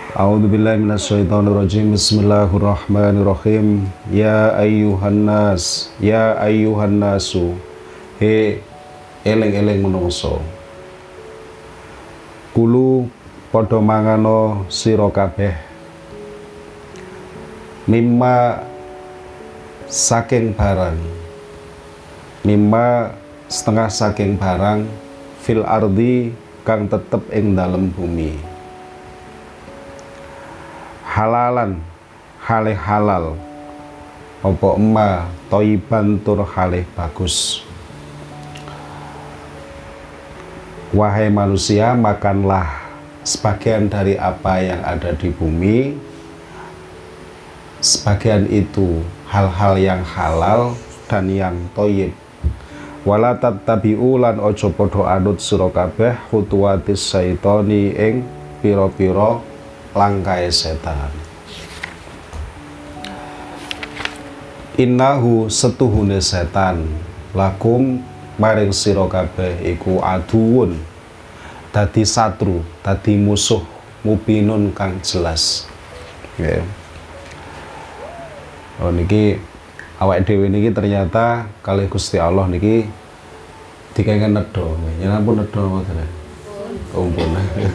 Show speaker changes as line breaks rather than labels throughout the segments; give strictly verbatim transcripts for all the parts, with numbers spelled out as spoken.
A'udzubillahi minasyaitonirrajim. Bismillahirrahmanirrahim. Ya ayyuhan nas, ya ayyuhan nasu. He eling-eling menungso. Kulu padha mangano sira kabeh. Mimma saking barang. Mimma setengah saking barang fil ardi kang tetep ing dalem bumi. Halalan halih halal apa emma toiban tur halih bagus. Wahai manusia, makanlah sebagian dari apa yang ada di bumi, sebagian itu hal-hal yang halal dan yang toyib. Wala tattabi'u lan ojo podo anut sira kabeh khutuwatis syaitoni ing pira-pira langkai setan. Innahu setuhune setan lakum maring sira kabeh iku aduun, dadi satru, dadi musuh mubinun kang jelas. Yeah. Oh niki awake dhewe niki ternyata kalih Gusti Allah niki dikengken nedha. Ya ampun nedha mboten. Ampun.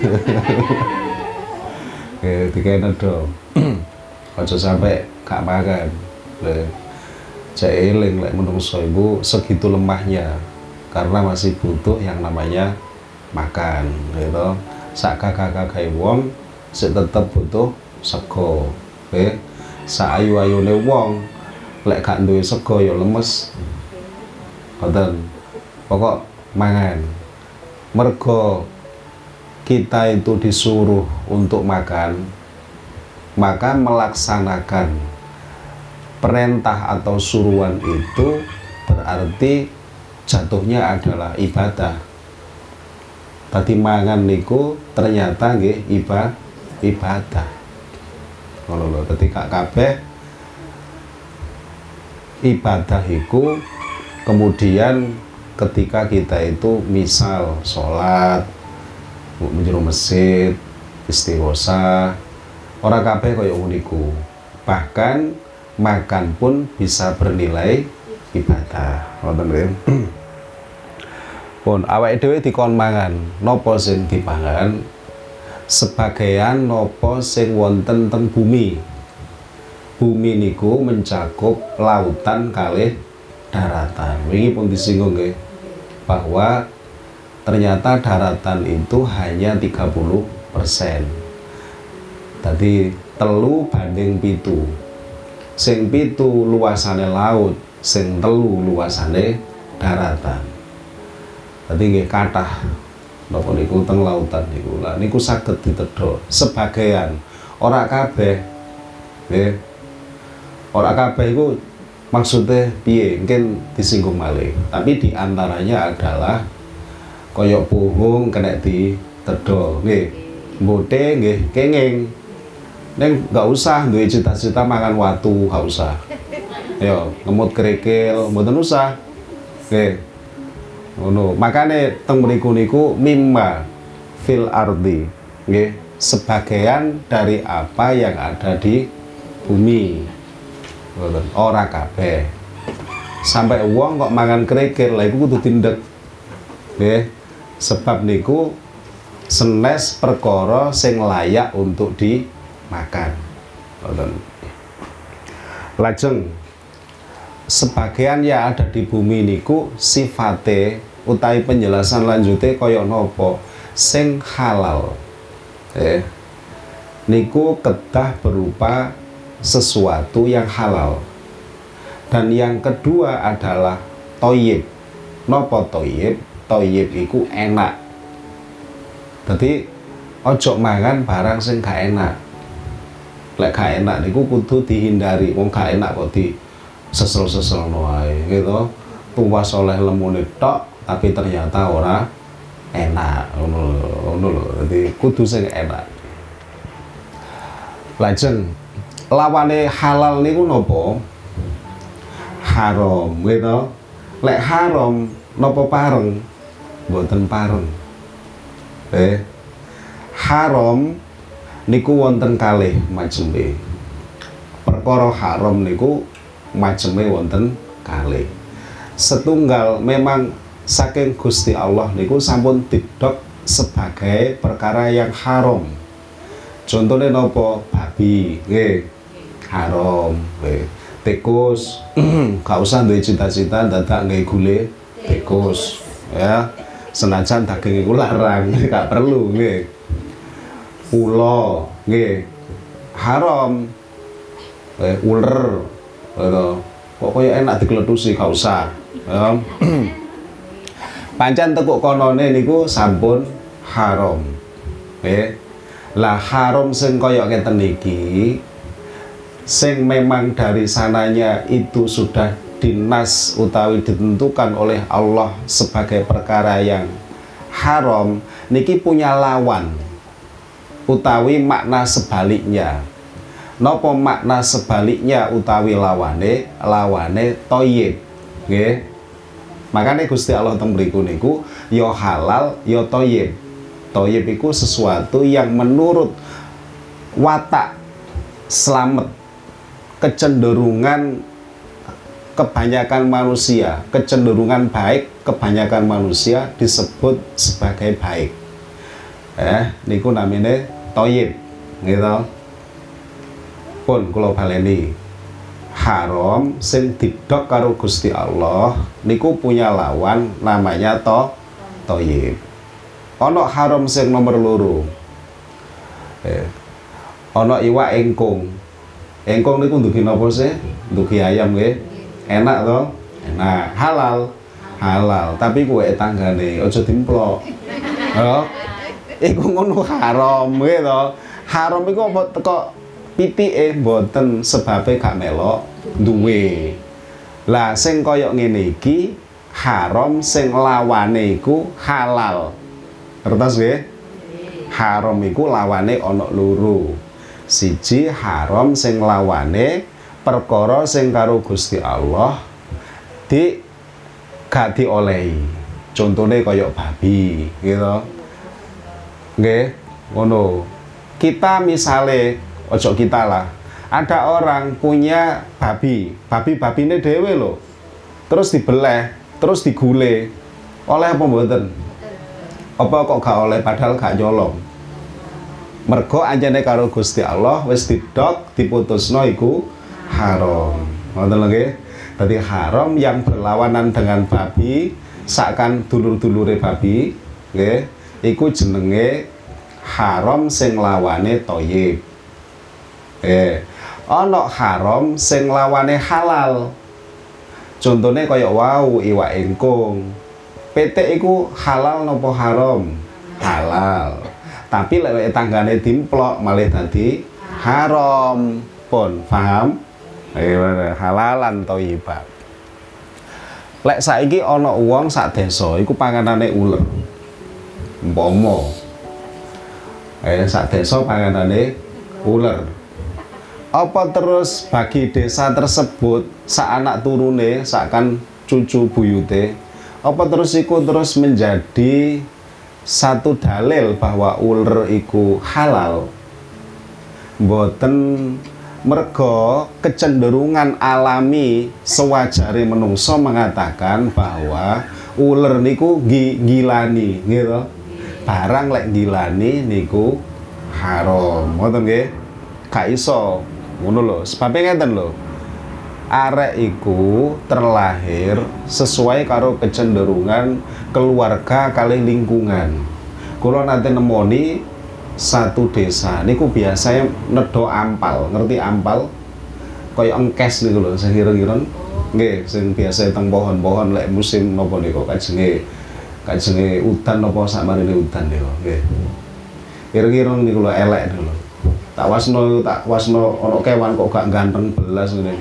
Oke, dikene do. Aja sampai gak makan. Lha cek eling lek menungso ibu segitu lemahnya karena masih butuh yang namanya makan, gitu. Sak kakak-kakak wong sik tetep butuh sego. Oke. Sak ayu-ayune wong lek gak duwe sego ya lemes. Ngoten. Pokok mangan. Mergo kita itu disuruh untuk makan, maka melaksanakan perintah atau suruhan itu berarti jatuhnya adalah ibadah. Tadi mangan niku ternyata nggih ibadah. Ibadah. Ngono lho, ketika kabeh ibadah iku kemudian ketika kita itu misal sholat menjero masjid, istighosa, ora kabeh kaya uniku. Bahkan makan pun bisa bernilai ibadah. Ngoten nggih. Pun awake dhewe dikon mangan, napa sing dipangan? Sebagian napa sing wonten teng bumi. Bumi niku mencakup lautan kalih daratan. Wingi pun disinggung nggih bahwa ternyata daratan itu hanya tiga puluh persen. Tadi telu banding pitu. Sing pitu luasane laut, sing telu luasane daratan. Tadi nggih kathah napa niku teng lautan niku. Lah niku saged ditedha sebagian, ora kabeh. Nggih. Ora kabeh iku maksudnya piye? Mungkin disinggung malih. Tapi diantaranya adalah koyok puhung kena di tedo nggih mbote nggih kenging neng nggak usah duwe cita-cita makan watu, nggak usah yo ngemut kerikil mboten usah nggih ngono. Makane teng mriku niku mimma fil ardi nggih sebagian dari apa yang ada di bumi, mboten ora kabeh. Sampai wong kok mangan kerikil lha iku kudu tindek nggih. Sebab niku senes perkara sing layak untuk dimakan. Lajeng sebagian yang ada di bumi niku sifate utawi penjelasan lanjute kaya napa sing halal. Eh niku kedah berupa sesuatu yang halal. Dan yang kedua adalah toyib. Napa toyib? Toyib iku enak. Jadi ojo mangan barang sing gak enak. Lek gak enak niku kudu dihindari. Wong gak enak kok di sesel-sesel wae gitu. Tuwas oleh lemune tok tapi ternyata ora enak. Ngono ngono lho. Dadi kudu sing enak. Lajeng lawane halal niku napa? Haram gitu. Lek haram napa pareng? Mboten pareng. Eh haram niku wonten kalih maceme. Perkara haram niku maceme wonten kalih. Setunggal memang saking Gusti Allah niku sampun didok sebagai perkara yang haram. Contohnya nopo? Babi, nggih, haram, nggih. Tikus, gak usah duwe cita-cita dadak nggih gule tikus, ya. Senajan daging iku larang, gak perlu, nggih. Ula, nggih, haram. Eh, uler, gitu. Kok koyo enak dikletusi, gak usah, ya. Pancen tekuk konone niku sampun haram, nggih. Lah haram sing kaya ngeten iki, sing memang dari sananya itu sudah dinas utawi ditentukan oleh Allah sebagai perkara yang haram, niki punya lawan utawi makna sebaliknya. Napa makna sebaliknya utawi lawane? Lawane thayyib, nggih. Makanya Gusti Allah teng mriku niku ya halal ya thayyib. Thayyib iku sesuatu yang menurut watak selamat, kecenderungan kebanyakan manusia, kecenderungan baik kebanyakan manusia disebut sebagai baik. Eh, niku namine thayyib, gitu. Pun kula baleni, haram sing didok karo Gusti Allah niku punya lawan namanya to thayyib. Ana haram sing nomor loro. Eh, ana iwak engkung. Engkung niku ndugi napa sih? Ndugi ayam nggih. Enak to? Enak. Halal. Halal, tapi kuwe tanggane aja dimplok. Ya. Iku ngono haram nggih to. Haram iku apa teko pitike mboten sebabe gak melok duwe. Lah sing kaya ngene iki haram sing lawane iku halal. Ngertos nggih? Haram iku lawane ana loro. Siji haram sing lawane perkara sing karo Gusti Allah di gak diolehi. Contone kaya babi, gitu. Nggih, ngono. Kita misale ojo kita lah. Ada orang punya babi, babi-babine dhewe lho. Terus dibeleh, terus digule. Oleh apa mboten? Apa kok gak oleh padahal gak nyolong? Mergo anjane karo Gusti Allah wis didok diputusno iku haram. Ngoten lho nggih. Dadi haram yang berlawanan dengan babi, sakan dulur-dulure babi, nggih, iku jenenge haram sing lawane thayyib. Eh, ana haram sing lawane halal. Contone kaya wau iwak engkung. Pitik iku halal napa haram? Halal. Tapi lek tanggane dimplok malah dadi haram. Pun paham? Eh, halalan thayyibat. Lek saiki ana wong sak desa iku panganane uler. Umpama eh sak desa panganane uler. Apa terus bagi desa tersebut sak anak turune, sakan cucu buyute, apa terus iku terus menjadi satu dalil bahwa uler iku halal? Mboten. Mergo kecenderungan alami sewajare menungso mengatakan bahwa uler niku gilani, gitu. Barang lek gilani niku haram. Ngoten nggih? Gak iso. Ngono lho. Sebabe ngeten lho. Arek iku terlahir sesuai karo kecenderungan keluarga kali lingkungan. Kula nate nemoni satu desa niku biasanya nedo ampal, ngerti ampal? Kaya engkes niku lho, sing ireng-ireng. Nggih, sing biasa teng pohon-pohon lek musim napa niku kajenge kajenge udan napa sakmarine udan niku, nggih. Ireng-ireng niku lho elek niku lho. Tak wasno tak wasno ana kewan kok gak ganteng belas ngene.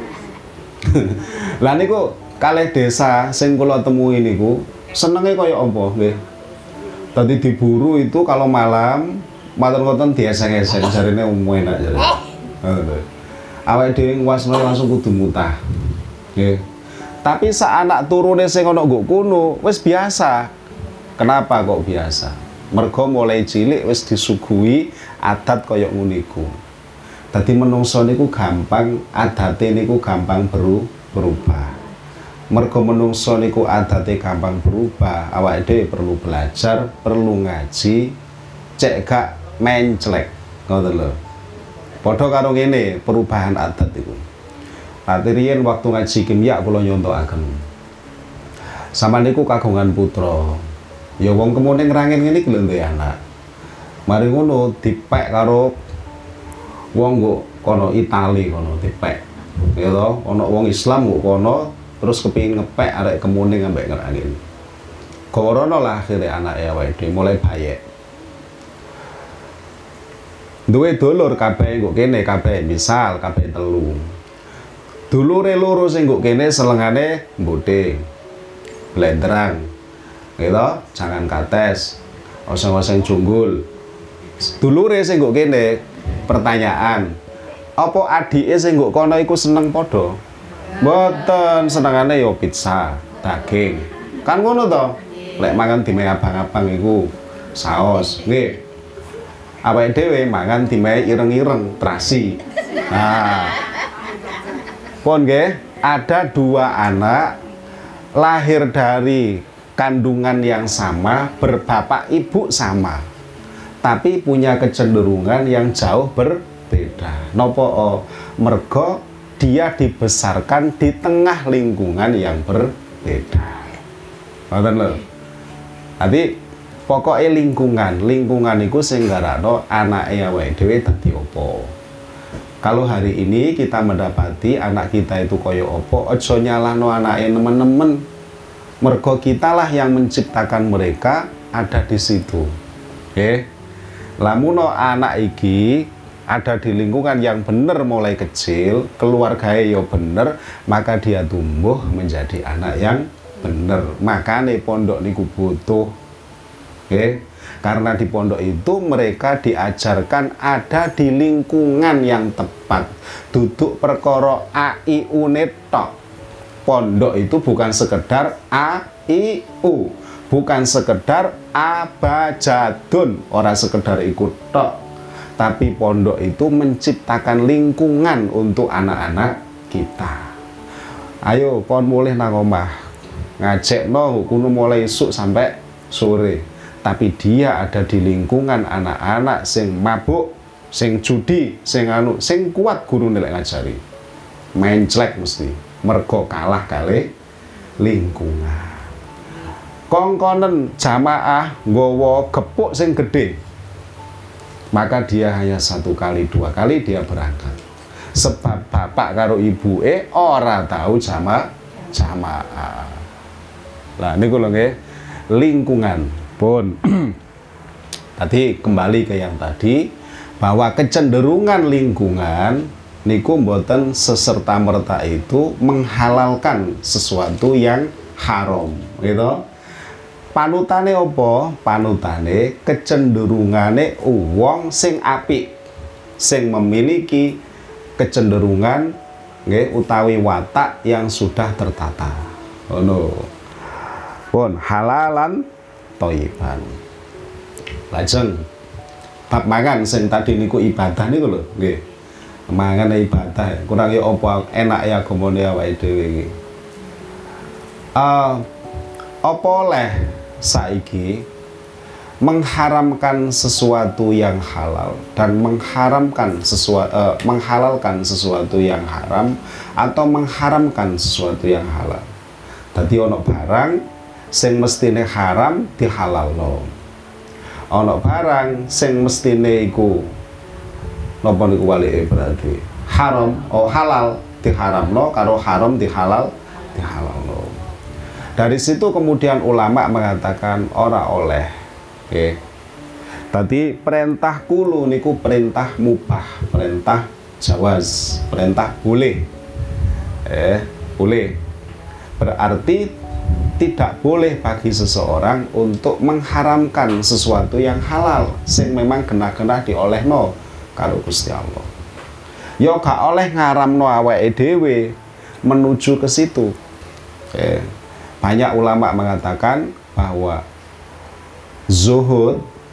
Lah niku kalih desa sing kula temui niku senenge kaya apa nggih. Tadi diburu itu kalau malam matur ngoten dieseng-eseng jarine umum enak jare. Heeh. Awake dhewe wasno langsung kudu mutah. Nggih. Tapi sak anak turune sing ana nggo kono wis biasa. Kenapa kok biasa? Mergo mulai cilik wis disuguhi adat kaya ngono iku. Dadi menungso niku gampang adate niku gampang beru, berubah. Mergo menungso niku adate gampang berubah, awake dhewe perlu belajar, perlu ngaji, cek gak menclek. Ngoten lho. Padha karo ngene, perubahan adat iku. Ati riyen waktu ngaji kimia kula nyontokaken. Sama niku kagungan putra. Ya wong kemune ngrangin ngene iki lho duwe anak. Mari ngono dipek karo wong kok kono Itali kono dipek. Ya to, ana wong Islam kok kono terus kepengin ngepek arek kemune ambek ngrangin. Gorono lah akhire anake awake dhewe mulai bayek. Duwe dulur kabeh kok kene kabeh misal kabeh telu. Dulure loro sing kok kene selengane mbote. Blenderang. Gitu, jangan kates. Oseng-oseng junggul. Dulure sing kok kene pertanyaan. Apa adike sing kok kono iku seneng padha? Mboten, senengane yo pizza, daging. Kan ngono to? Lek mangan dimeh abang-abang iku saos, nggih. Awake dhewe mangan dimeh ireng-ireng, terasi. Nah. Pun nggih, ada dua anak lahir dari kandungan yang sama, berbapak ibu sama. Tapi punya kecenderungan yang jauh berbeda. Nopo oh, mergo dia dibesarkan di tengah lingkungan yang berbeda. Ngoten lho. Jadi pokoknya lingkungan, lingkungan itu sing garakno anake awake dhewe dadi apa. Kalau hari ini kita mendapati anak kita itu koyo apa, aja nyalahno anake nemen-nemen. Mergo kitalah yang menciptakan mereka ada di situ. Oke. Lamuno anak iki ada di lingkungan yang benar mulai kecil, keluarganya yo bener, maka dia tumbuh menjadi anak yang bener. Makanya pondok niku butuh. Oke. Karena di pondok itu mereka diajarkan ada di lingkungan yang tepat. Duduk perkara a i u netok. Pondok itu bukan sekedar a i u, bukan sekedar abajadun, orang sekedar ikut tok. Tapi pondok itu menciptakan lingkungan untuk anak-anak kita. Ayo kon mulih nang omah. Ngajekno kuno mulai esuk sampai sore. Tapi dia ada di lingkungan anak-anak sing mabuk, sing judi, sing anu, sing kuat guru nilai ngajari. Menclek mesti, mergo kalah kali lingkungan. Kongkonen jamaah nggawa gepuk sing gede. Maka dia hanya satu kali, dua kali dia berangkat. Sebab bapak karo ibu e ora tahu jamaah jamaah. Lah niku lho nggih, lingkungan. Pun tadi kembali ke yang tadi bahwa kecenderungan lingkungan niku mboten seserta-merta itu menghalalkan sesuatu yang haram, gitu. Panutane apa? Panutane kecenderungane wong sing apik, sing memiliki kecenderungan nggih utawi watak yang sudah tertata. Ngono. Pun halalan toiban. Lajeng bab mangan sing tadi niku ibadah niku lho, nggih. Mangan ibadah, kurang ya apa enak ya agamane awake dhewe iki. Uh, apa oleh saiki mengharamkan sesuatu yang halal dan mengharamkan sesuatu uh, menghalalkan sesuatu yang haram atau mengharamkan sesuatu yang halal. Dadi ono barang sing mestine haram dihalalno. Ana barang sing mestine iku napa niku walike berarti haram oh halal diharamno karo haram dihalal dihalalno. Dari situ kemudian ulama mengatakan ora oleh. Oke. Tadi perintah kulo niku perintah mubah, perintah jawaz, perintah boleh. Eh, boleh. Berarti tidak boleh bagi seseorang untuk mengharamkan sesuatu yang halal sing memang kena-kena diolehno karo Gusti Allah. Ya gak oleh ngaramno awake dhewe menuju ke situ. Eh, banyak ulama mengatakan bahwa zuhud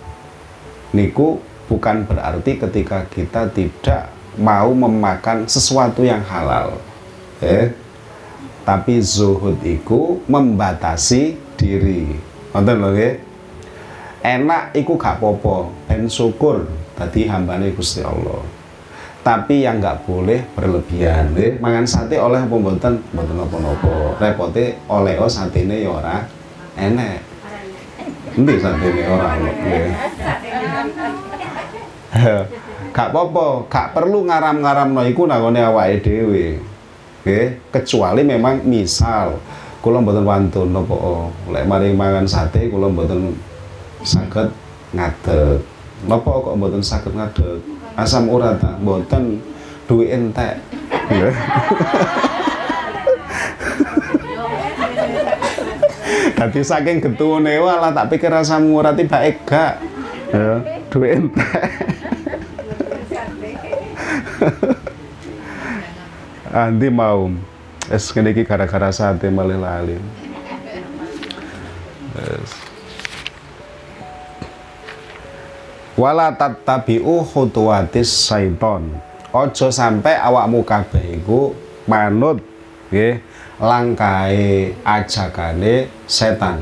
niku bukan berarti ketika kita tidak mau memakan sesuatu yang halal, eh? Tapi zuhud iku membatasi diri. Nonton lho nggih. Enak iku gak popo, ben syukur tadi hambane Gusti Allah. Tapi yang nggak boleh berlebihan. Eh, mangan sate oleh apa mboten? Mboten napa-napa. Repote oleh oh satene ya ora enek. Endi satene ora ono. Gak apa-apa, gak perlu ngaram-ngaramno iku nangone awake dhewe. Nggih, kecuali memang misal kula mboten wantun napa lek mari mangan sate kula mboten saged ngadeg. Napa kok mboten saged ngadeg? Asam urat ta mboten duwe entek. Dadi saking getune walah tak pikir asam urat bae gak. Ya, duwe entek. Andi mau es kene iki gara-gara sate malih lali. Yes. Wala tattabi'u khutuwatis syaiton. Ojo sampai awakmu kabeh iku manut nggih langkahe ajakane setan.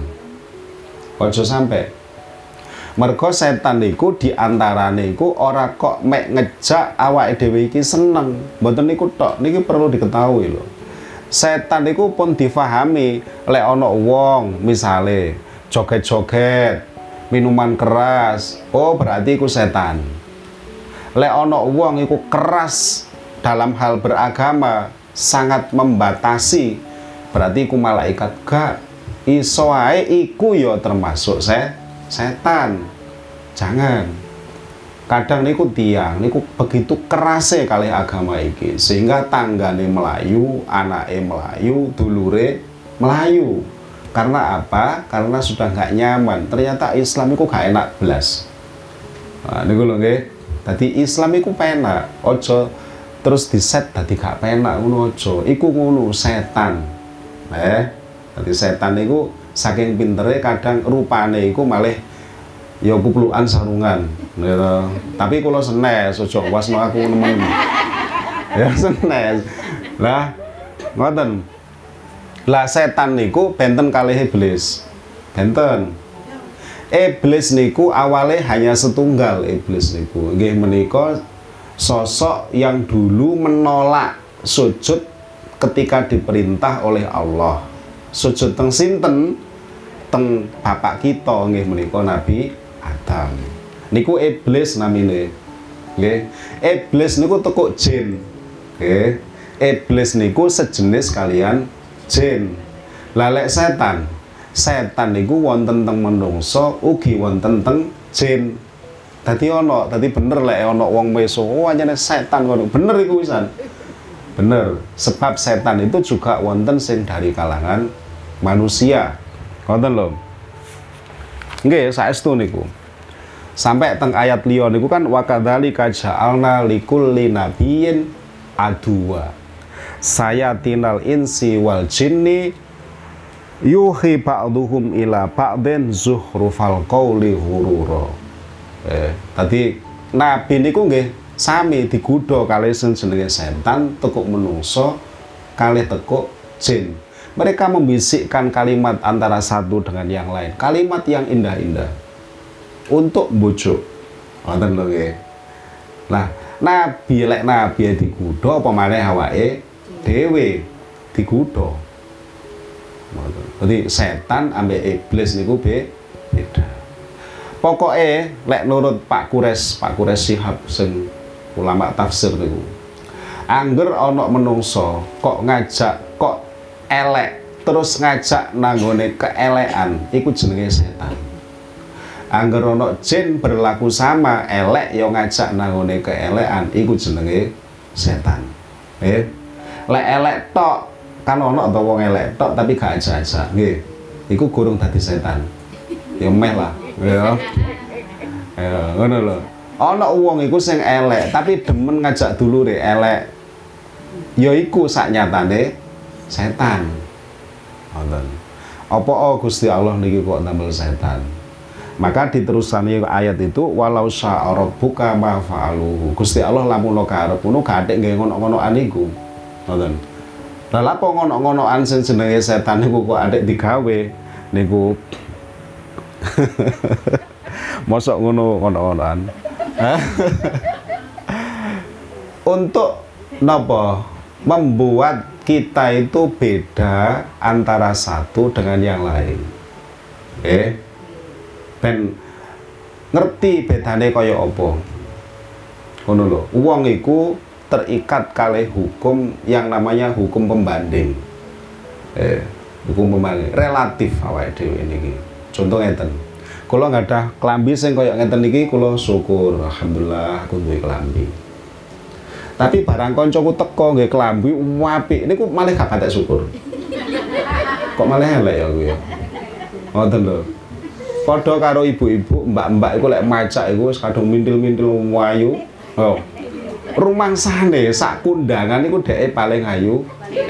Ojo sampai. Mergo setan niku diantarane iku ora kok mek ngejak awake dhewe iki seneng. Mboten niku tok, niki perlu diketahui lho. Setan niku pun difahami lek ana wong misale joget-joget, minuman keras, oh berarti iku setan. Lek ana wong iku keras dalam hal beragama, sangat membatasi, berarti iku malaikat. Gak iso ae iku ya termasuk se setan. Jangan. Kadang niku tiang niku begitu kerasnya kali agama iki sehingga tanggane melayu, anake melayu, dulure melayu. Karena apa? Karena sudah nggak nyaman. Ternyata Islam itu gak enak belas. Nah, niku lho nggih. Dadi Islam iku penak. Ojo terus diset dadi gak penak ngono aja. Iku ngono setan. Eh, dadi setan niku saking pintere kadang rupane iku malih ya kuplukan sarungan gitu. Tapi kula senes aja wasno aku nemen. Ya senes. Lah ngoten. Lah setan niku benten kalih iblis. Benten. Iblis niku awalnya hanya setunggal iblis niku. Nggih menika sosok yang dulu menolak sujud ketika diperintah oleh Allah. Sujud teng sinten? Teng bapak kita nggih menika Nabi Adam. Niku iblis namine. Nggih. Iblis niku tekuk jin. Nggih. Iblis niku sejenis kalian jin. Lalek setan. Setan niku wonten teng menungso, ugi wonten teng jin. Dadi ana, dadi bener lek ana wong meso, oh anjane setan ngono. Bener iku wisan. Bener, sebab setan itu juga wonten sing dari kalangan manusia. Ngoten lho. Nggih, saestu niku. Sampai teng ayat liya niku kan wa kadzalika ja'alna likulli nabiyyin aduwa. Sayatinal insi wal jinni yuhi ba'duhum ila ba'din zuhrufal qawli ghurura. Eh, tadi nabi niku nggih sami digodha kalih sing jenenge setan, tekuk menungso, kalih tekuk jin. Mereka membisikkan kalimat antara satu dengan yang lain, kalimat yang indah-indah untuk bujuk. Wonten lho nggih. Nah, nabi lek nabi digodha apa maneh awake dhewe digodha. Jadi setan ambek iblis niku beda. Pokoknya lek nurut Pak Kures, Pak Kures Shihab sing ulama tafsir niku. Angger ana menungso kok ngajak kok elek terus ngajak nanggone keelekan, iku jenenge setan. Angger ana jin berlaku sama elek ya ngajak nanggone keelekan, iku jenenge setan. Eh, lek elek tok kan ana to wong elek tok tapi gak ajak-ajak nggih. Iku gurung dadi setan. Ya meh lah, ya. Ya, ngono lho. Ana wong iku sing elek tapi demen ngajak dulure elek. Ya iku sak nyatane setan. Ngoten. Apa oh Gusti Allah niki kok tambel setan? Maka diterusani ayat itu walau syaa rabbuka ma fa'aluhu. Gusti Allah lamun karep ngono gathik nggih ngono-ngonoan iku. Ngoten. Lah apa ngono-ngonoan sing jenenge setan niku kok atik digawe niku. Mosok ngono ngono-ngonoan. Untuk napa? Membuat kita itu beda antara satu dengan yang lain. Eh, ben ngerti bedane kaya apa. Ngono lho. Wong iku terikat kalih hukum yang namanya hukum pembanding. Eh, hukum pembanding relatif awake dhewe niki. Contoh ngeten. Kula ngadah klambi sing kaya ngeten niki kula syukur, alhamdulillah aku duwe klambi. Tapi barang koncoku teko nggih klambi apik niku malah gak patek syukur. Kok malah elek ya kuwi ya. Ngoten lho. Padha karo ibu-ibu, mbak-mbak iku lek macak iku wis kadung mintil-mintil wayu. Oh. Rumangsane sak kundangan iku dheke paling ayu.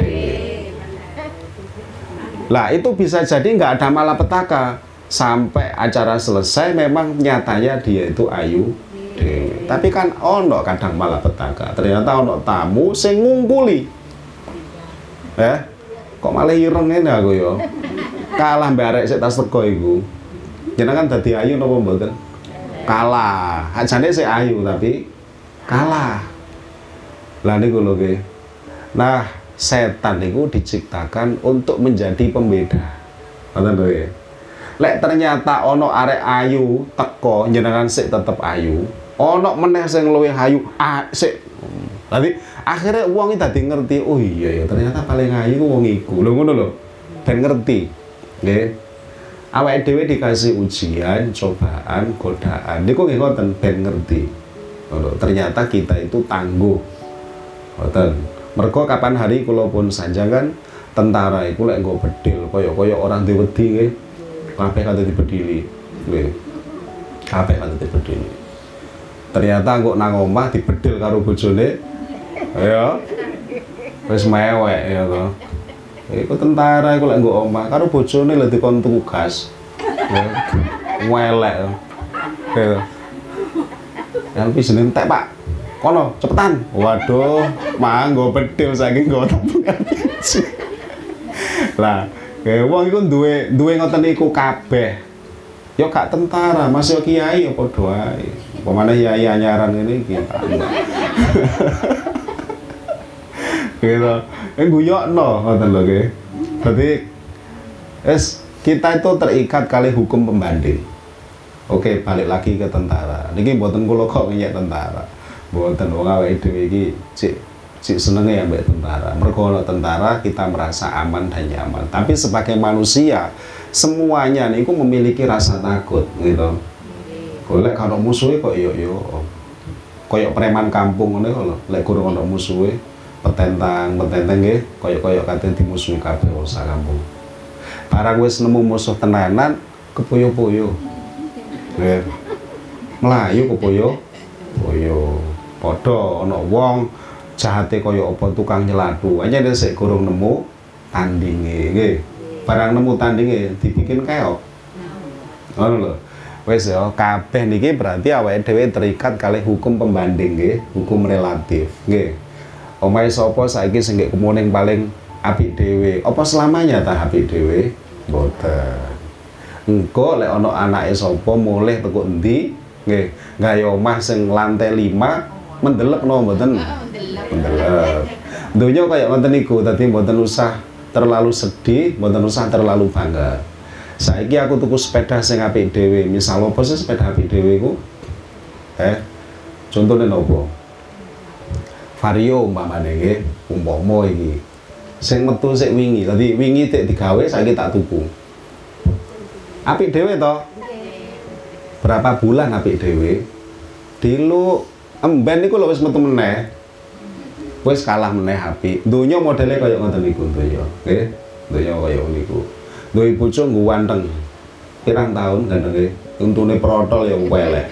Lah itu bisa jadi nggak ada malapetaka sampai acara selesai memang nyatanya dia itu ayu. Dewi. Tapi kan ono kadang malah petaka. Ternyata ono tamu sing ngungkuli. Eh, kok malah ireng ngene aku ya. Kalah mbek arek sik tas teko iku. Jenengan dadi ayu napa mboten? Kalah. Ajane sik ayu tapi kalah. Lah niku lho nggih. Nah, setan niku diciptakan untuk menjadi pembeda. Ngoten lho ya. Lek ternyata ono arek ayu teko jenengan sik tetep ayu. Ono meneh sing luwih ayu, ah, sik. Dadi akhirnya wong iki dadi ngerti, oh iya ya ternyata paling ayu ku wong iku. Lho ngono lho. Ben ngerti. Nggih. Awake dhewe dikasih ujian, cobaan, godaan. Niku nggih ngoten ben ngerti. Ngono. Ternyata kita itu tangguh. Ngoten. Mergo kapan hari kula pun sanjangan tentara iku lek nggo bedil kaya-kaya orang diwedi nggih. Kabeh kate dibedili. Nggih. Kabeh kate dibedili. Ternyata kok nang omah dibedil karo bojone. Ya. Wis mewek ya to. Iku tentara iku lek nggo omah karo bojone lek dikon tugas. Ya. Welek. Ya. Yang wis entek, Pak. Kono, cepetan. Waduh, manggo bedil saking nggo tabungan biji. Lah, kayak wong iku duwe duwe ngoten iku kabeh. Ya gak tentara, masih kiai apa doae. Pemane yai anyaran ngene iki tak. Gitu. Eh guyokno ngoten lho nggih. Berarti es kita itu terikat kali hukum pembanding. Oke, balik lagi ke tentara. Niki mboten kula kok ngenyek tentara. Mboten wong awake dhewe iki cik cik senenge ya mbek tentara. Mergo ana tentara kita merasa aman dan nyaman. Tapi sebagai manusia semuanya niku memiliki rasa takut gitu. Golek karo musuhe kok yo yo. Koyok preman kampung ngene kok lho. Lek kurang ana musuhe petentang, petentang nggih, koyok-koyok kate dimusuhi kabeh wong sak kampung. Barang wis nemu musuh tenanan kepoyo-poyo. Nggih. Mlayu kepoyo poyo. Padha ana wong jahate kaya apa tukang nyelatu. Aja sik kurang nemu tandinge nggih. Barang nemu tandinge dibikin keok. Ngono lho. Wis ya, kabeh niki berarti awake dhewe terikat kalih hukum pembanding nggih, hukum relatif nggih. Omahe sapa saiki sing nggih kemuning paling apik dhewe? Apa selamanya ta apik dhewe? Mboten. Engko lek ana anake sapa mulih teko endi nggih, gawe omah sing lantai lima mendelep no mboten? Mendelep. Donya kaya ngoten niku, dadi mboten usah terlalu sedih, mboten usah terlalu bangga. Saiki aku tuku sepeda sing apik dhewe. Misal apa sih sepeda apik dhewe iku? Eh, contone nopo? Vario umpamane nggih, umpama iki. Sing metu sik wingi, dadi wingi tek digawe saiki tak tuku. Apik dhewe to? Berapa bulan apik dhewe? Dilu emben niku lho wis metu meneh. Wis kalah meneh apik. Donya modele kaya ngoten niku donya, nggih. Donya kaya niku. Duwe bojo nggo wanteng. Pirang taun gandenge, untune protol ya welek.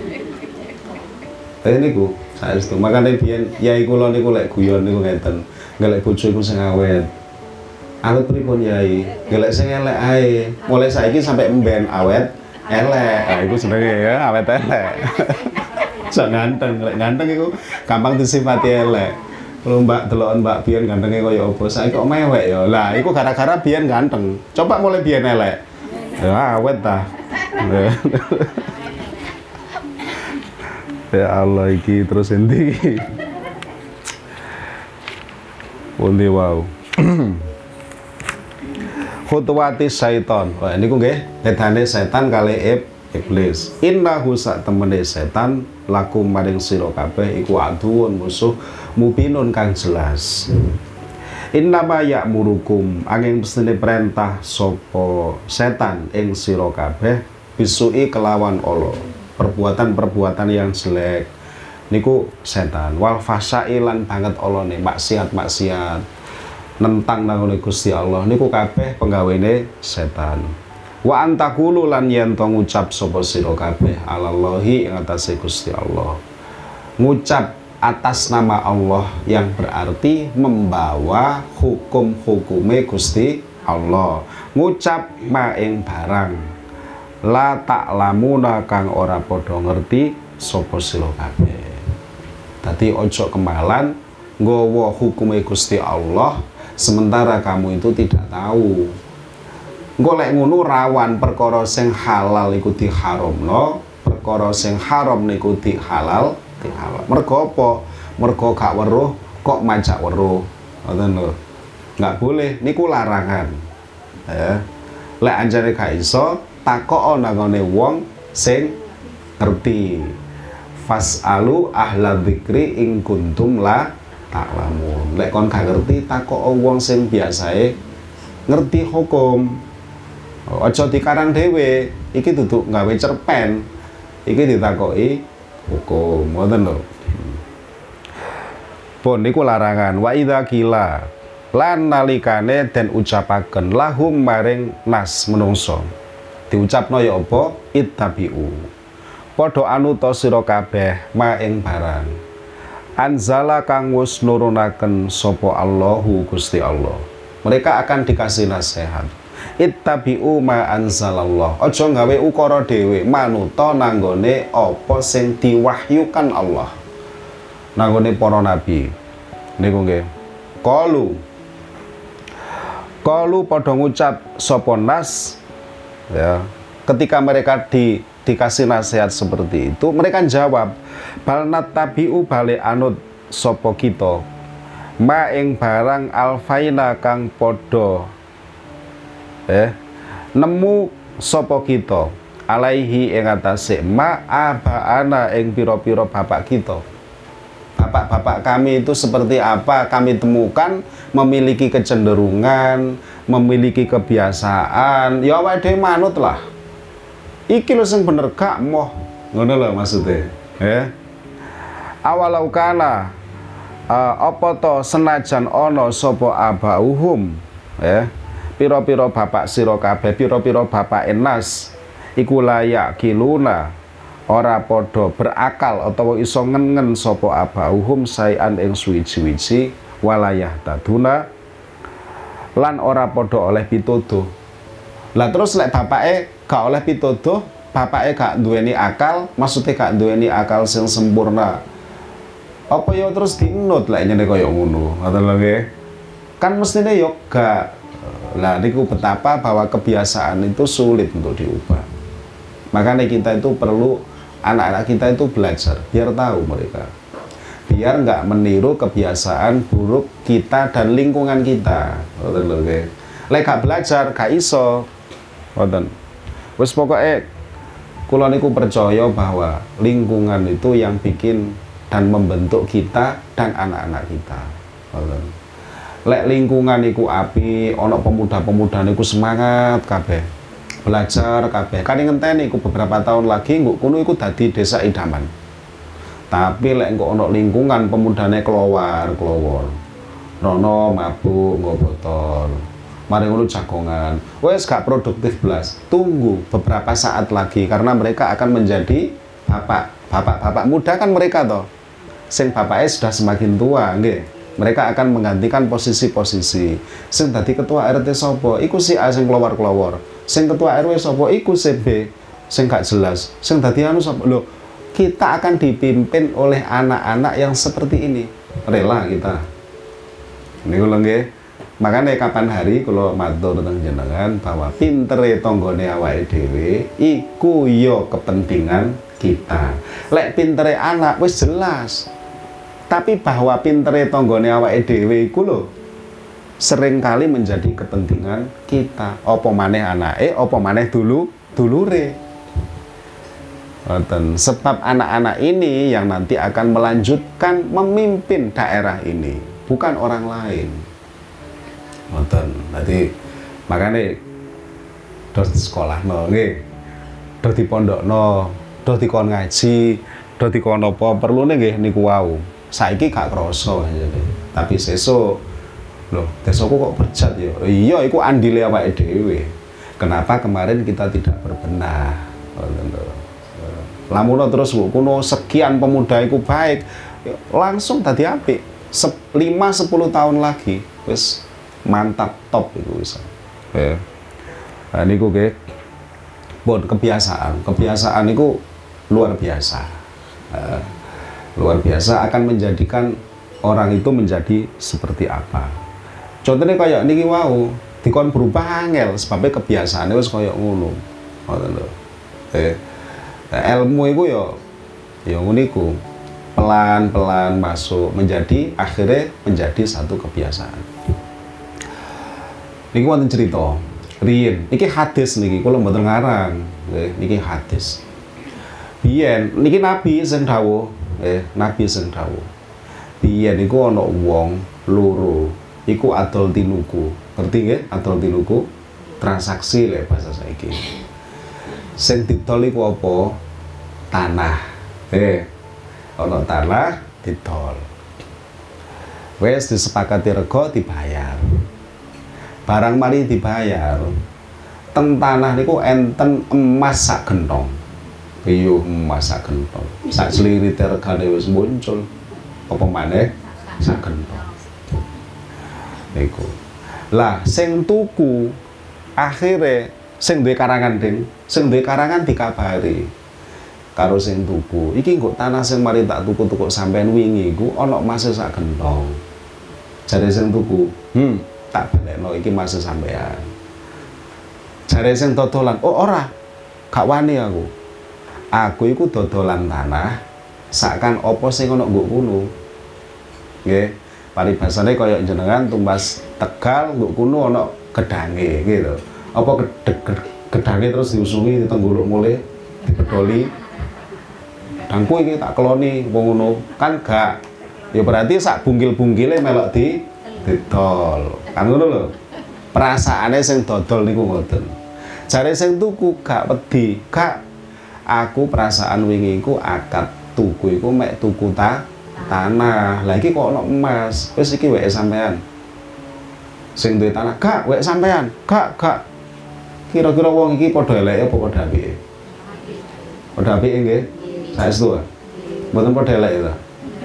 Eh niku saestu. Makane biyen yai kula niku lek guyon niku ngeten. Golek bojo iku sing awet. Awet pripun yai? Golek sing elek ae. Mulai saiki sampai emben awet, elek. Ah iku jenenge ya awet elek. Sak ganteng, lek ganteng iku gampang disifati elek. Kalau mbak delokan mbak biyen gantenge kaya apa, saiki kok mewek ya. Lah iku gara-gara biyen ganteng. Coba mulai biyen elek. Ya awet ta. Ya Allah iki terus endi iki. Pundi wow. Khutuwati syaiton. Wah niku nggih bedane setan kali iblis. Innahu sak temene setan lakum maring sira kabeh iku aduun musuh mubinun kang jelas. Innama ya'murukum angin mestine perintah sapa setan ing sira kabeh bisui kelawan Allah, perbuatan-perbuatan yang jelek niku setan, wal fasailan banget Allah nih, maksiat-maksiat nentang nangone Gusti Allah niku kabeh penggawene setan. Wa antakulu lan yen to ngucap sapa sira kabeh alallahi ing atase Gusti Allah, ngucap atas nama Allah yang berarti membawa hukum-hukume Gusti Allah, ngucap maing barang la ta'lamuna kang ora padha ngerti sapa sira kabeh. Dadi ojo kemalan nggawa hukume Gusti Allah sementara kamu itu tidak tahu. Engko lek ngono rawan perkara sing halal iku diharamno, perkara sing haram niku dihalal halal. Mergo apa? Mergo gak weruh kok majak weruh. Ngoten lho. Enggak boleh niku larangan. Ya. Lek anjane gak iso takok nangone wong sing ngerti. Fas'alu ahla dzikri ing kuntum la ta'lamun. Lek kon gak ngerti takok wong sing biasae ngerti hukum. Aja dikarang dhewe. Iki duduk gawe cerpen. Iki ditakoki hukum, ngoten lho. Pun niku larangan. Wa idza qila lan nalikane den ucapaken lahum maring nas menungso. Diucapno ya apa? Ittabi'u. Padha anuta sira kabeh ma ing barang. Anzala kang wis nurunaken sapa Allahu Gusti Allah. Mereka akan dikasih nasihat. Ittabi'u ma anzalallah. Aja gawe ukara dhewe, manuta nanggone apa sing diwahyukan Allah. Nanggone para nabi. Niku nggih. Qalu. Qalu padha ngucap sapa nas ya. Ketika mereka di dikasih nasihat seperti itu, mereka jawab, bal nattabi'u bale anut sapa kita. Ma ing barang alfaina kang padha eh nemu sapa kita alaihi ing atase ma abaana ing pira-pira bapak kita. Bapak-bapak kami itu seperti apa kami temukan memiliki kecenderungan, memiliki kebiasaan, ya awake dhewe manut lah. Iki lho sing bener gak moh. Ngono lho maksudnya, ya. Awalau kana uh, apa to senajan ana sapa abauhum, ya. Piro-piro bapak sira kabeh, piro-piro bapak enas iku layak kiluna ora padha berakal utawa iso ngen-ngen sapa abauhum sayan ing suwi-wiji walayah taduna lan ora padha oleh pituduh. Lah terus lek bapake gak oleh pituduh, bapake gak duweni akal, maksudnya gak duweni akal sing sempurna. Apa ya terus dinut lek nyene kaya ngono, ngoten lho nggih. Kan mestine ya gak. Lah niku betapa bahwa kebiasaan itu sulit untuk diubah. Makanya kita itu perlu, anak-anak kita itu belajar biar tahu mereka, biar nggak meniru kebiasaan buruk kita dan lingkungan kita. Ngoten lho nggih. Lek gak belajar gak iso. Ngoten. Wis pokoke kula niku percaya bahwa lingkungan itu yang bikin dan membentuk kita dan anak-anak kita. Ngoten. Lek lingkungan iku api, ono pemuda-pemuda niku semangat kabeh. Belajar kabeh. Kan ngenteni iku beberapa tahun lagi nggo kuno iku dadi desa idaman. Tapi lek engko ono lingkungan pemudane keluar, keluar. Rono mabuk, nggo botol. Mari ngono jagongan. Wes gak produktif belas. Tunggu beberapa saat lagi karena mereka akan menjadi bapak. Bapak-bapak muda kan mereka toh. Sing bapaknya sudah semakin tua, nggih. Mereka akan menggantikan posisi-posisi. Sing dadi ketua R T sapa? Iku si A sing keluar-keluar. Sing ketua R W sapa? Iku si B. sing gak jelas. Sing dadi anu sapa? Lho, kita akan dipimpin oleh anak-anak yang seperti ini. Rela kita. Niku lho nggih. Makanya kapan hari kalau matur tentang jenengan bahwa pintere tonggone awake dhewe iku yo kepentingan kita. Lek pintere anak wis jelas. Tapi bahwa pintere tonggone awake dhewe iku lho seringkali menjadi kepentingan kita. Apa maneh anake, apa maneh dulu dulure. Sebab anak-anak ini yang nanti akan melanjutkan memimpin daerah ini, bukan orang lain. Nonton, nanti makanya dos sekolah no, nggih, dos di pondok no, dos di kon ngaji, dos di kon apa perlu nih niku wau. Saiki gak kroso aja deh. Tapi sesuk, loh, desoku kok berjat ya? Iya, iku andile awake dhewe. Kenapa kemarin kita tidak berbenah? Lamun terus kuno sekian pemuda iku baik, langsung tadi apik. lima sepuluh tahun lagi, wis mantap top itu bisa. Ya. Nah niku nggih. Bon kebiasaan, kebiasaan itu luar biasa. Uh, luar biasa akan menjadikan orang itu menjadi seperti apa. Contohnya kayak niki wau, dikon berubah angel sebabnya kebiasaannya wis kayak ngono. Ngoten lho. Eh, ilmu itu ya ya niku pelan-pelan masuk menjadi akhirnya menjadi satu kebiasaan. Niki wonten cerita, riyen niki hadis niki kula mboten ngarang, nggih niki hadis. Biyen niki nabi sing dawuh, eh nabi sing dawuh. Biyen niku ana wong loro, iku adol tinuku. Ngerti nggih? Adol tinuku transaksi lek bahasa saiki. Sing didol iku apa? Tanah. Eh, ana tanah didol. Wes disepakati rega dibayar. Barang mari dibayar, teng tanah niku enten emas sak gentong. Piye emas sak gentong? Sak slirite regane wis muncul. Apa maneh sak gentong. Niku. Lah sing tuku akhire sing duwe karangan ding, sing duwe karangan dikabari karo sing tuku. Iki kok tanah sing mari tak tuku-tuku sampean wingi iku ana emas sak gentong. Jare sing tuku, "Hmm, tak balekno iki mas sampean." Jare sing dodolan, "Oh ora, gak wani aku. Aku iku dodolan tanah, sakan apa sing ana nggo kuno." Nggih, paribasane kaya jenengan tumbas Tegal nggo kuno ana gedange gitu. Apa gedange terus diusungi ditengguluk mulih, dipedoli. Dangku iki tak keloni wong ngono, kan gak. Ya berarti sak bungkil-bungkile melok di didol. Kan ngono lho. Perasaane sing dodol niku ngoten. Jare sing tuku gak wedi, gak. Aku perasaan wingi iku akad tuku iku mek tuku ta tanah. Lah iki kok ono emas. Wis iki weke sampean. Sing duwe tanah gak wek sampean. Gak, gak. Kira-kira wong iki padha eleke apa padha apike? Padha apike nggih. Saestu. Mboten padha eleke ta.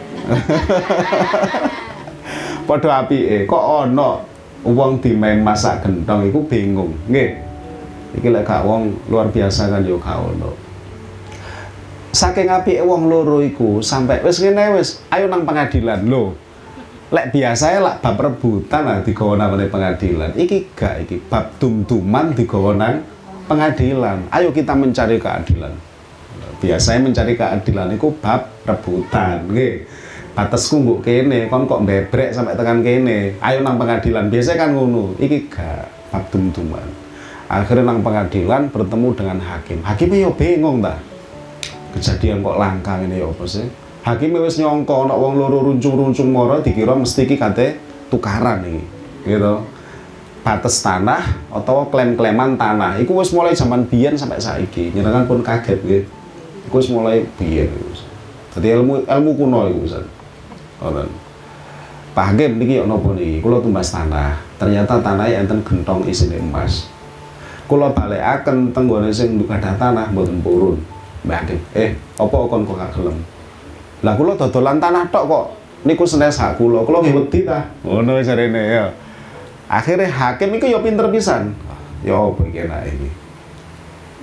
Padha apike kok ana wong dimain masak gentong iku bingung nggih. Iki lek gak wong luar biasa kan yo gak ono. Saking apike wong loro iku sampai wis ngene wis ayo nang pengadilan lho. Lek biasae lak bab rebutan lah digawa nang pengadilan. Iki gak iki bab dum-duman digawa nang pengadilan. Ayo kita mencari keadilan. Biasanya mencari keadilan iku bab rebutan nggih. Batasku mbok kene, kon kok bebrek sampai tekan kene. Ayo nang pengadilan. Biasanya kan ngono. Iki gak bab dum-duman. Akhirnya nang pengadilan bertemu dengan hakim. Hakimnya yo bingung ta. Kejadian kok langka ngene yo apa sih? Hakimnya wis nyongko ana wong loro runcung-runcung mara dikira mesti iki kate tukaran iki. Gitu. Batas tanah atau klaim-klaiman tanah. Iku wis mulai zaman biyen sampai saiki. Njenengan pun kaget nggih. Iku wis mulai biyen. Dadi ilmu ilmu kuno iku Ustaz. Ngoten. Pak Hakim niki ana napa niki? Kula tumbas tanah. Ternyata tanahnya enten gentong isine emas. Kula balekaken teng nggone sing gadah tanah mboten purun. Mbak Hakim, eh apa kon kok gak gelem? Lah kula dodolan tanah tok kok niku senes hak kula. Kula nggih wedi ta. Ngono jarene ya. Akhirnya hakim iku ya pinter pisan. Ya apa iki enak iki.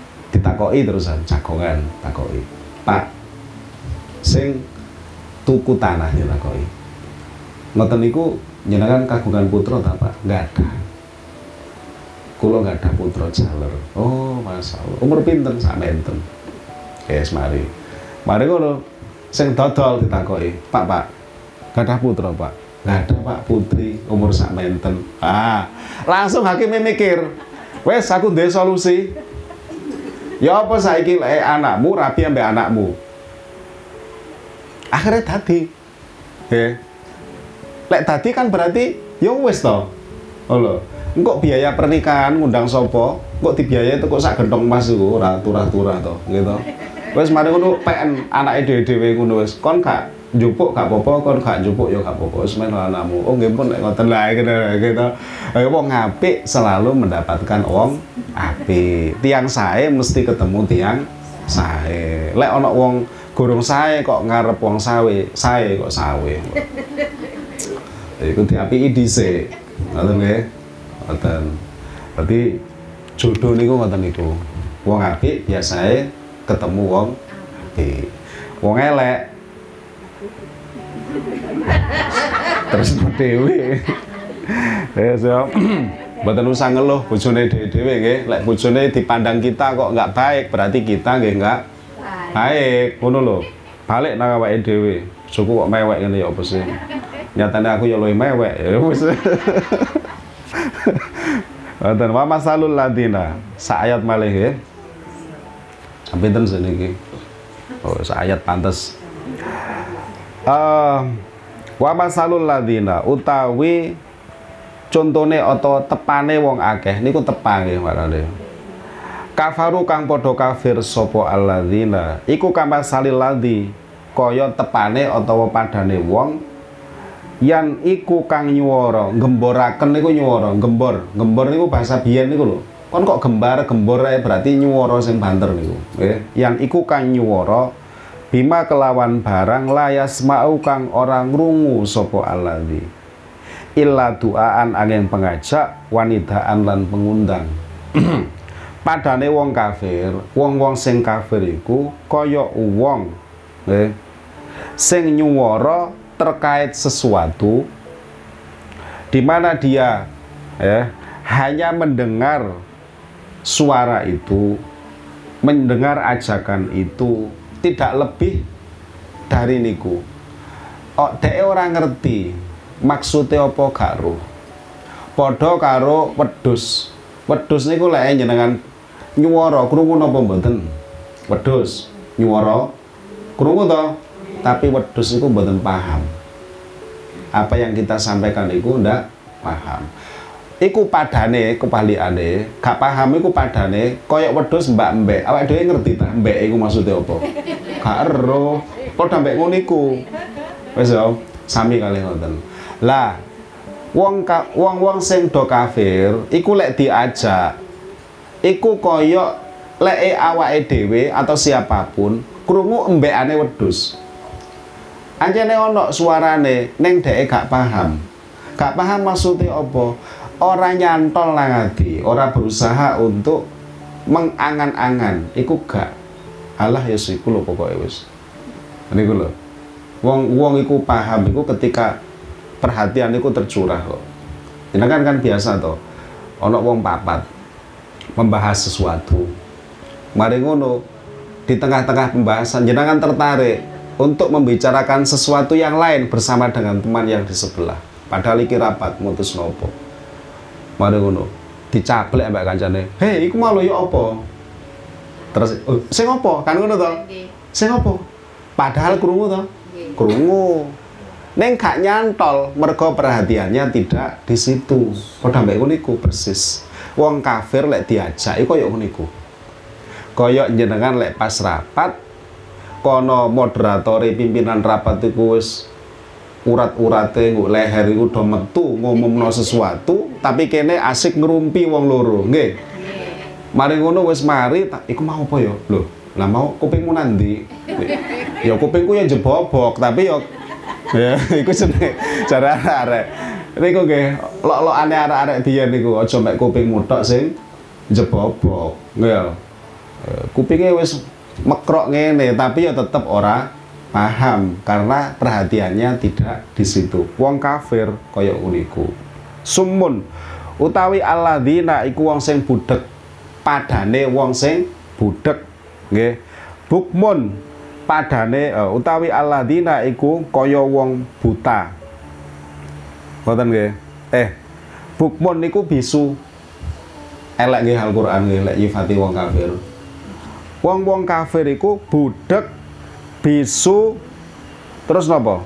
ditakoki terusan jagongan takoki. Pak, sing tuku tanah ditakoki. Ngoten niku jenengan kagungan putra ta, Pak? Enggak ada. Kula enggak ada putra jaler. Oh, masyaallah. Umur pinten sakmenten? Yes, mari. Mari ngono. Sing dodol ditakoki, "Pak, Pak, enggak ada putra, Pak?" "Enggak ada, Pak, putri umur sakmenten." Ah, langsung hakime mikir. Wes aku duwe solusi. Ya apa saiki lek anakmu rabi ambek anakmu? Akhirnya dadi. Nggih. Lek dadi kan berarti ya wis to. Oh lho. Engko biaya pernikahan ngundang sapa? Kok dibiayai teko sak gentong emas iku ora turah-turah to, gitu. Wis mari ngono P N anake dhewe-dhewe ngono wis. Kon gak njupuk gak apa-apa, kon gak njupuk ya gak apa-apa. Wis men anakmu. Oh nggih pun nek ngoten lah gitu. Ayo wong apik selalu mendapatkan wong apik. Tiang sae mesti ketemu tiang sae. Lek ana wong gorong sae kok ngarep wong sawe, sae kok sawe. Iku diapiki dhisik. Ngoten nggih. Ngoten. Berarti jodoh niku ngoten niku. Wong apik biasae ketemu wong apik. Wong elek terus dhewe. Ya, so, mboten usah ngeluh bojone dhewe-dhewe nggih. Lek bojone dipandang kita kok enggak baik, berarti kita nggih enggak baik. Ngono lho. Balik nang awake dhewe. Suku kok mewek ngene ya apa sih? Nyatane aku ya luwih mewek. Ya wis. Wonten wa masalul ladina. Sak ayat malih nggih. Pinten seniki? Oh, sak ayat pantes. Uh, wa masalul ladina utawi contone atau tepane wong akeh niku tepange warane. Kafaru kang padha kafir sapa alladzina iku kamasalil ladzi kaya tepane utawa padane wong yan iku kang nyuwara gemboraken niku nyuwara gembor gembor niku bahasa biyen niku lho kon kok gembar gembor ae berarti nyuwara sing banter niku nggih yan iku kang nyuwara bima kelawan barang layas mau kang orang ngrungu sapa alladzi illa duaan angin pengajak wanidaan lan pengundang. Padane wong kafir wong-wong sing kafir iku kaya wong nggih sing nyuwara terkait sesuatu di mana dia ya hanya mendengar suara itu mendengar ajakan itu tidak lebih dari niku. Oh, dhek ora ngerti maksudnya apa gak roh. Padha karo wedhus. Wedhus niku lek jenengan nyuwara krungu napa mboten? Wedhus nyuwara krungu to, tapi wedhus niku mboten paham. Apa yang kita sampaikan niku ndak paham. Iku padane kepalikane, gak paham iku padane koyok wedhus mbak-mbek. Awake dhewe ngerti ta mbek iku maksudnya apa? Gak ero. Padha mbek ngono iku. Wis yo, sami kalih ngoten. Lah, wong wong-wong sing do kafir iku lek diajak iku koyok leke awake dhewe atau siapapun krungu embekane wedhus. Anjene ana suarane ning dheke gak paham. Gak paham maksudnya apa? Ora nyantol nang ati, ora berusaha untuk mengangan-angan, iku gak. Alah ya iku lho pokoke wis. Niku lho. Wong-wong iku paham iku ketika perhatian iku tercurah kok. Jenengan kan biasa to. Ana wong papat membahas sesuatu. Mari ngono, di tengah-tengah pembahasan jenengan tertarik untuk membicarakan sesuatu yang lain bersama dengan teman yang di sebelah. Padahal iki rapat mutus nopo. Mari ngono, dicaplek mbak kancane. Hei, iku mau ya apa? Terus, oh, sing apa? Kan ngono to? Sing apa? Padahal krungu to? Krungu. Neng gak nyantol, mergo perhatiannya tidak di situ. Padha mbek ngono iku persis. Wong kafir lek diajak iku koyo ngono iku. Koyo jenengan lek pas rapat kono moderatori pimpinan rapat iku wis urat-urate nggo leher iku do metu ngomongno sesuatu tapi kene asik ngerumpi wong loro nggih mari ngono wis mari iku mau apa ya lho lah mau kupingmu nandi ya kupingku ya jebobok tapi ya ya iku jenenge cara arek niku nggih lok-lokane arek-arek biyen niku aja mek kupingmu tok sing jebobok nggih kupingnya wis mekrok ngene tapi ya tetep ora paham karena perhatiannya tidak di situ. Wong kafir kaya uniku. Sumun utawi alladzina iku wong sing budhek, padane wong sing budhek nggih. Bukmun padane uh, utawi alladzina iku kaya wong buta. Ngoten nggih. Eh, bukmun niku bisu. Elek nggih Al-Qur'an nggih lek nyifati wong kafir. Wong-wong kafir iku budhek, bisu, terus napa?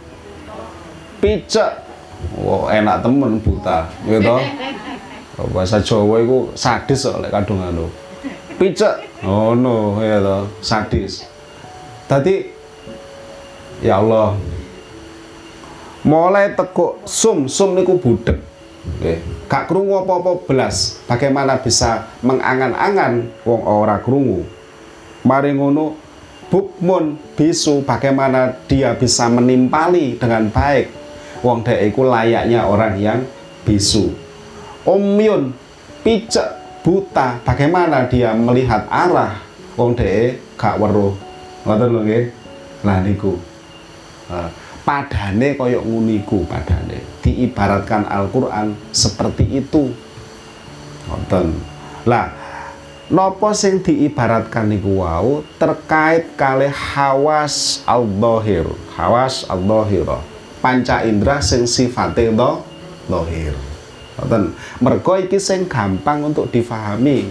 Picek. Wah, enak temen buta, gitu. Bahasa Jawa iku sadis kok lek kadung anu. Picek. Oh no, ya toh, sadis. Tadi ya Allah. Mulai teko sum, sum niku budhek. Nggih, gak krungu apa-apa belas. Bagaimana bisa mengangan-angan wong ora krungu? Mari ngono bukmun bisu, bagaimana dia bisa menimpali dengan baik wong dhek iku layaknya orang yang bisu. Umyun picek buta, bagaimana dia melihat arah wong dhek gak weruh. Ngoten lho nggih. Lah niku. Nah, padane koyok nguniku padane diibaratkan Al-Qur'an seperti itu. Ngoten. Lah napa sing diibaratkan niku wau terkait kalih hawas al-dhahir. Hawas al-dhahirah. Panca indera sing sifate do dhahir. Ngoten. Mergo iki sing gampang untuk difahami.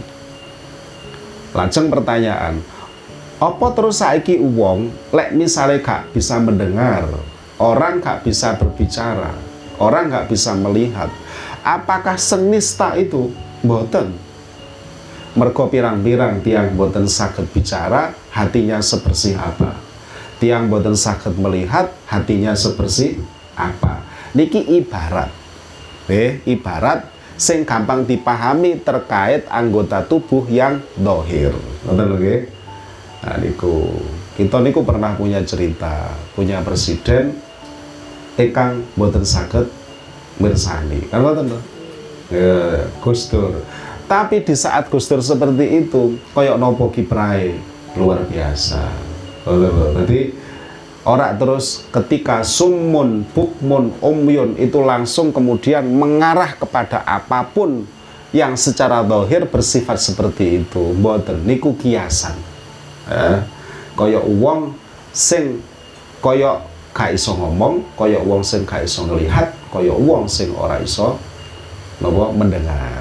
Lajeng pertanyaan, apa terus saiki wong lek misale gak bisa mendengar, orang gak bisa berbicara, orang gak bisa melihat, apakah senista itu? Mboten. Mergo pirang-pirang tiang mboten saged bicara, hatinya sebersih apa? Tiang mboten saged melihat, hatinya sebersih apa? Niki ibarat. Eh, ibarat sing gampang dipahami terkait anggota tubuh yang dohir. Ngoten lho nggih. Nah niku, kita niku pernah punya cerita, punya presiden ingkang mboten saged mirsani. Kan ngoten lho. Ya, Gus Dur. Tapi di saat Gus Dur seperti itu, koyok nopo kiprahe luar biasa. Jadi orang terus ketika summun, bukmun, umyun itu langsung kemudian mengarah kepada apapun yang secara zahir bersifat seperti itu. Mboten niku kiasan. Eh, koyok wong sing koyok gak iso ngomong, koyok wong sing gak iso ngelihat, koyok wong sing ora iso napa mendengar.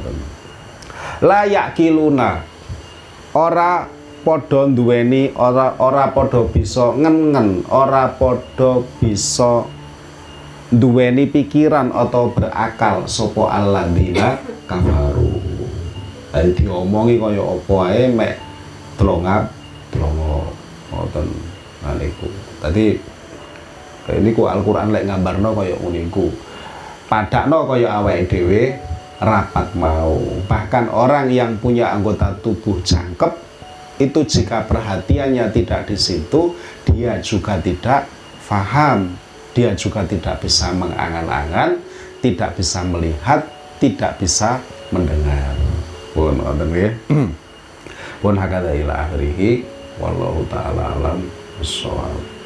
Layak kiluna ora podo duweni, ora ora podo bisa ngen-ngen, ora podo bisa duweni pikiran atau berakal sopo alladzina kafaru. Jadi diomongi kaya apa ae mek tlongap tlongo ngoten niku. Tadi niku Al-Qur'an lek nggambarno kaya niku. Padakno kaya awake dhewe rapat mau. Bahkan orang yang punya anggota tubuh jangkep itu jika perhatiannya tidak di situ, dia juga tidak faham, dia juga tidak bisa mengangan-angan, tidak bisa melihat, tidak bisa mendengar. Pun wonten nggih. Pun hakada ila akhirih wallahu taala alam bissawab.